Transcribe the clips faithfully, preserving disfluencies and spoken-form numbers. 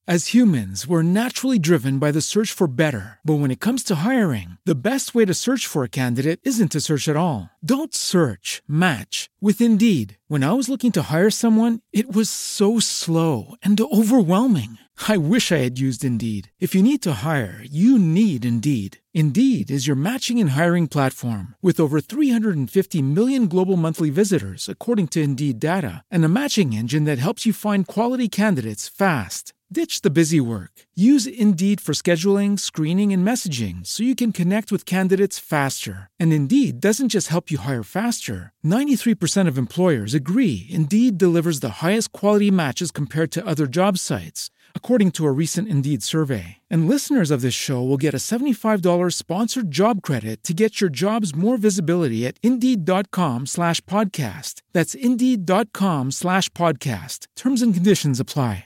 As humans, we're naturally driven by the search for better. But when it comes to hiring, the best way to search for a candidate isn't to search at all. Don't search, match with Indeed. When I was looking to hire someone, it was so slow and overwhelming. I wish I had used Indeed. If you need to hire, you need Indeed. Indeed is your matching and hiring platform with over three hundred fifty million global monthly visitors, according to Indeed data, and a matching engine that helps you find quality candidates fast. Ditch the busy work. Use Indeed for scheduling, screening, and messaging so you can connect with candidates faster. And Indeed doesn't just help you hire faster. ninety-three percent of employers agree Indeed delivers the highest quality matches compared to other job sites, according to a recent Indeed survey. And listeners of this show will get a seventy-five dollars sponsored job credit to get your jobs more visibility at Indeed.com slash podcast. That's Indeed.com slash podcast. Terms and conditions apply.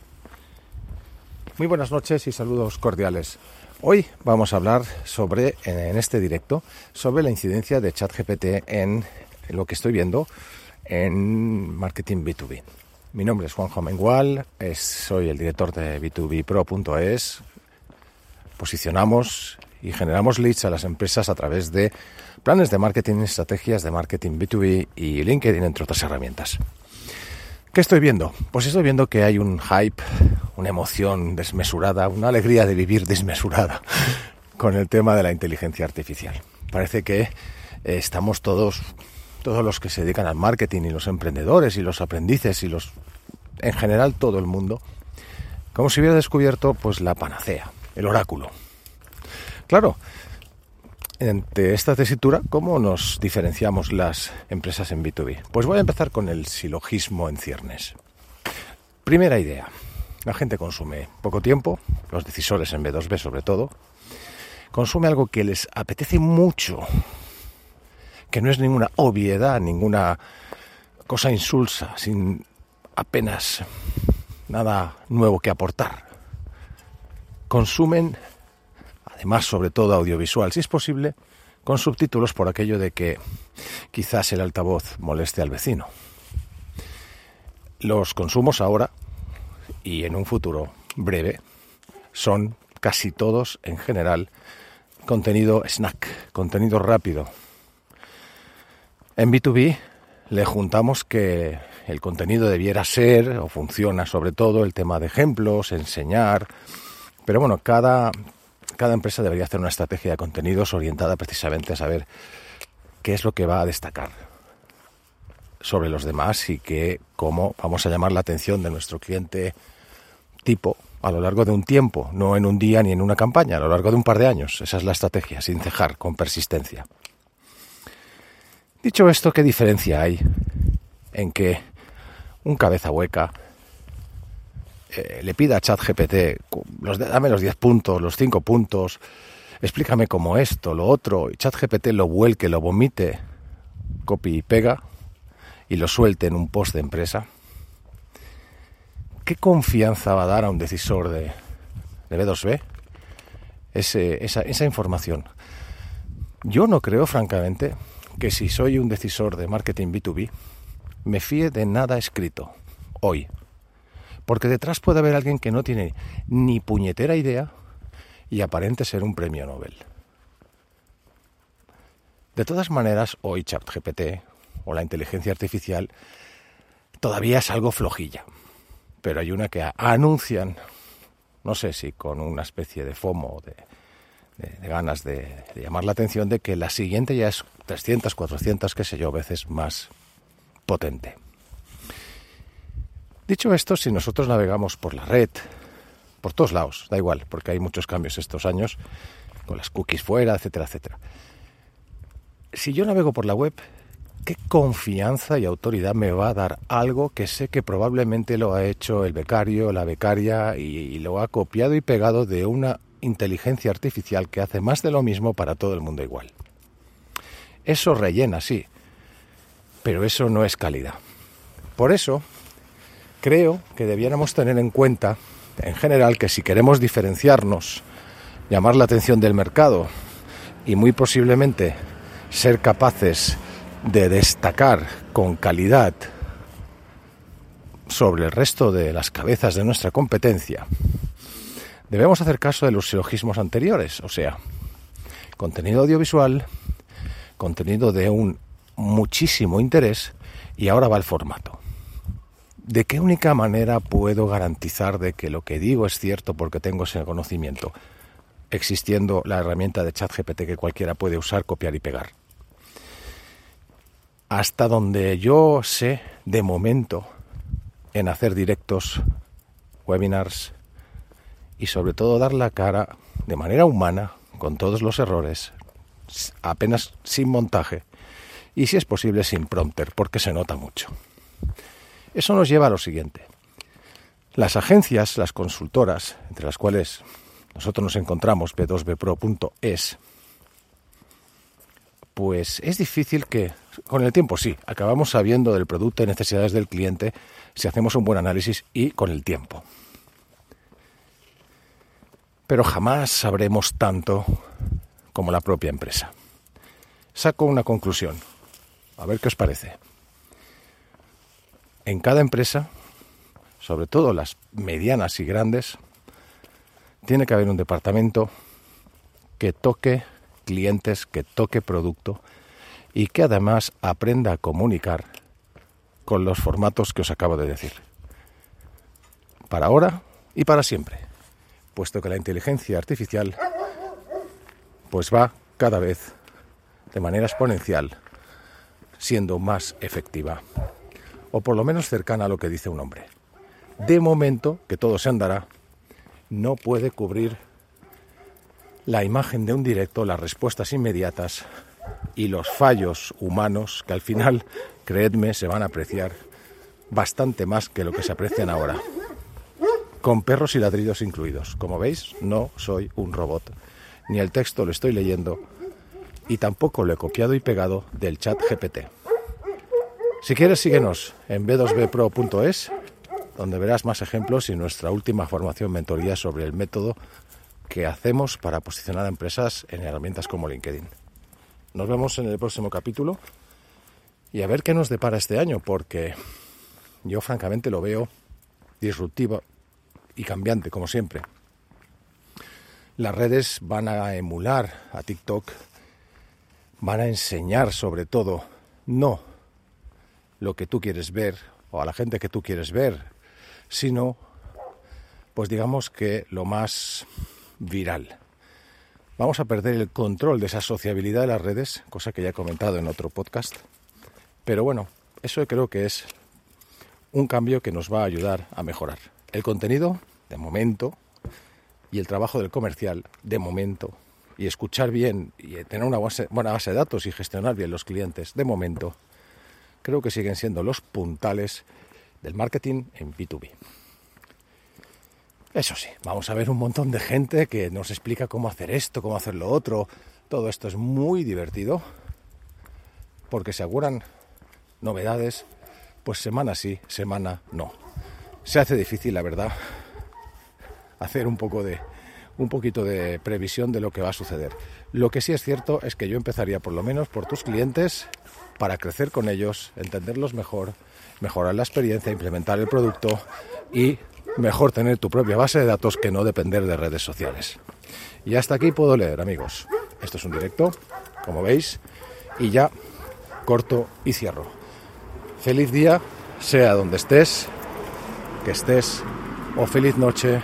Muy buenas noches y saludos cordiales. Hoy vamos a hablar sobre, en este directo, sobre la incidencia de ChatGPT en lo que estoy viendo en marketing B dos B. Mi nombre es Juanjo Amengual, es, soy el director de B dos B Pro punto es. Posicionamos y generamos leads a las empresas a través de planes de marketing, estrategias de marketing B dos B y LinkedIn, entre otras herramientas. ¿Qué estoy viendo? Pues estoy viendo que hay un hype, una emoción desmesurada, una alegría de vivir desmesurada con el tema de la inteligencia artificial. Parece que eh, estamos todos, todos los que se dedican al marketing y los emprendedores y los aprendices y los, en general todo el mundo, como si hubiera descubierto pues la panacea, el oráculo. Claro, ante esta tesitura, ¿cómo nos diferenciamos las empresas en B dos B? Pues voy a empezar con el silogismo en ciernes. Primera idea. La gente consume poco tiempo, los decisores en B dos B sobre todo, consume algo que les apetece mucho, que no es ninguna obviedad, ninguna cosa insulsa, sin apenas nada nuevo que aportar. Consumen, además sobre todo audiovisual, si es posible, con subtítulos por aquello de que quizás el altavoz moleste al vecino. Los consumos ahora y en un futuro breve son casi todos, en general, contenido snack, contenido rápido. En B dos B le juntamos que el contenido debiera ser, o funciona sobre todo, el tema de ejemplos, enseñar, pero bueno, cada, cada empresa debería hacer una estrategia de contenidos orientada precisamente a saber qué es lo que va a destacar sobre los demás y que, cómo vamos a llamar la atención de nuestro cliente tipo a lo largo de un tiempo, no en un día ni en una campaña, a lo largo de un par de años. Esa es la estrategia, sin cejar, con persistencia. Dicho esto, ¿qué diferencia hay en que un cabeza hueca eh, le pida a ChatGPT, los, dame los diez puntos, los cinco puntos, explícame cómo esto, lo otro, y ChatGPT lo vuelque, lo vomite, copy y pega, y lo suelte en un post de empresa? ¿Qué confianza va a dar a un decisor de, de B dos B ese, esa, esa información? Yo no creo, francamente, que si soy un decisor de marketing B dos B, me fíe de nada escrito hoy. Porque detrás puede haber alguien que no tiene ni puñetera idea y aparente ser un premio Nobel. De todas maneras, hoy ChatGPT o la inteligencia artificial todavía es algo flojilla. Pero hay una que anuncian, no sé si con una especie de FOMO, de, de, de ganas de, de llamar la atención, de que la siguiente ya es trescientas, cuatrocientas, qué sé yo, veces más potente. Dicho esto, si nosotros navegamos por la red, por todos lados, da igual, porque hay muchos cambios estos años, con las cookies fuera, etcétera, etcétera. Si yo navego por la web, ¿qué confianza y autoridad me va a dar algo que sé que probablemente lo ha hecho el becario, la becaria y, y lo ha copiado y pegado de una inteligencia artificial que hace más de lo mismo para todo el mundo igual? Eso rellena, sí, pero eso no es calidad. Por eso creo que debiéramos tener en cuenta, en general, que si queremos diferenciarnos, llamar la atención del mercado y muy posiblemente ser capaces de destacar con calidad sobre el resto de las cabezas de nuestra competencia, debemos hacer caso de los silogismos anteriores, o sea, contenido audiovisual, contenido de un muchísimo interés, y ahora va el formato. ¿De qué única manera puedo garantizar de que lo que digo es cierto porque tengo ese conocimiento? Existiendo la herramienta de ChatGPT que cualquiera puede usar, copiar y pegar. Hasta donde yo sé, de momento, en hacer directos, webinars y sobre todo dar la cara de manera humana, con todos los errores, apenas sin montaje y si es posible sin prompter, porque se nota mucho. Eso nos lleva a lo siguiente. Las agencias, las consultoras, entre las cuales nosotros nos encontramos, b dos b pro punto es, pues es difícil que, con el tiempo sí, acabamos sabiendo del producto y necesidades del cliente si hacemos un buen análisis y con el tiempo. Pero jamás sabremos tanto como la propia empresa. Saco una conclusión, a ver qué os parece. En cada empresa, sobre todo las medianas y grandes, tiene que haber un departamento que toque clientes, que toque producto y que además aprenda a comunicar con los formatos que os acabo de decir. Para ahora y para siempre, puesto que la inteligencia artificial pues va cada vez de manera exponencial siendo más efectiva, o por lo menos cercana a lo que dice un hombre. De momento, que todo se andará, no puede cubrir la imagen de un directo, las respuestas inmediatas y los fallos humanos que al final, creedme, se van a apreciar bastante más que lo que se aprecian ahora, con perros y ladridos incluidos. Como veis, no soy un robot, ni el texto lo estoy leyendo y tampoco lo he copiado y pegado del chat G P T. Si quieres, síguenos en b dos b pro punto es, donde verás más ejemplos y nuestra última formación mentoría sobre el método que hacemos para posicionar a empresas en herramientas como LinkedIn. Nos vemos en el próximo capítulo y a ver qué nos depara este año, porque yo francamente lo veo disruptivo y cambiante, como siempre. Las redes van a emular a TikTok, van a enseñar sobre todo, no lo que tú quieres ver o a la gente que tú quieres ver, sino, pues digamos que lo más viral. Vamos a perder el control de esa sociabilidad de las redes, cosa que ya he comentado en otro podcast, pero bueno, eso creo que es un cambio que nos va a ayudar a mejorar. El contenido, de momento, y el trabajo del comercial, de momento, y escuchar bien y tener una base, buena base de datos y gestionar bien los clientes, de momento, creo que siguen siendo los puntales del marketing en B dos B. Eso sí, vamos a ver un montón de gente que nos explica cómo hacer esto, cómo hacer lo otro. Todo esto es muy divertido porque se auguran novedades, pues semana sí, semana no. Se hace difícil, la verdad, hacer un poco de un poquito de previsión de lo que va a suceder. Lo que sí es cierto es que yo empezaría por lo menos por tus clientes para crecer con ellos, entenderlos mejor, mejorar la experiencia, implementar el producto y mejor tener tu propia base de datos que no depender de redes sociales. Y hasta aquí puedo leer, amigos. Esto es un directo, como veis, y ya corto y cierro. Feliz día, sea donde estés, que estés, o feliz noche,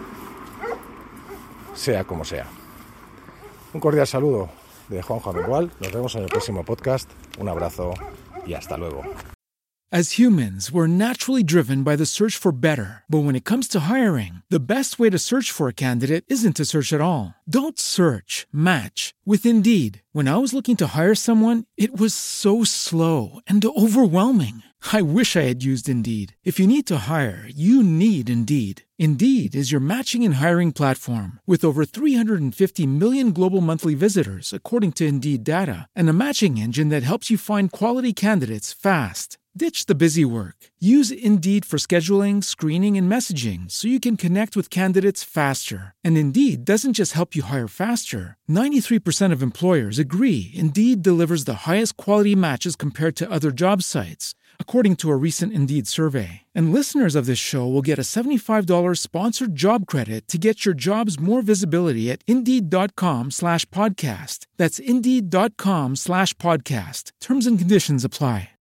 sea como sea. Un cordial saludo de Juanjo Amengual. Nos vemos en el próximo podcast. Un abrazo y hasta luego. As humans, we're naturally driven by the search for better. But when it comes to hiring, the best way to search for a candidate isn't to search at all. Don't search, match with Indeed. When I was looking to hire someone, it was so slow and overwhelming. I wish I had used Indeed. If you need to hire, you need Indeed. Indeed is your matching and hiring platform with over three hundred fifty million global monthly visitors, according to Indeed data, and a matching engine that helps you find quality candidates fast. Ditch the busy work. Use Indeed for scheduling, screening, and messaging so you can connect with candidates faster. And Indeed doesn't just help you hire faster. ninety-three percent of employers agree Indeed delivers the highest quality matches compared to other job sites. according to a recent Indeed survey. And listeners of this show will get a seventy-five dollars sponsored job credit to get your jobs more visibility at Indeed.com slash podcast. That's Indeed.com slash podcast. Terms and conditions apply.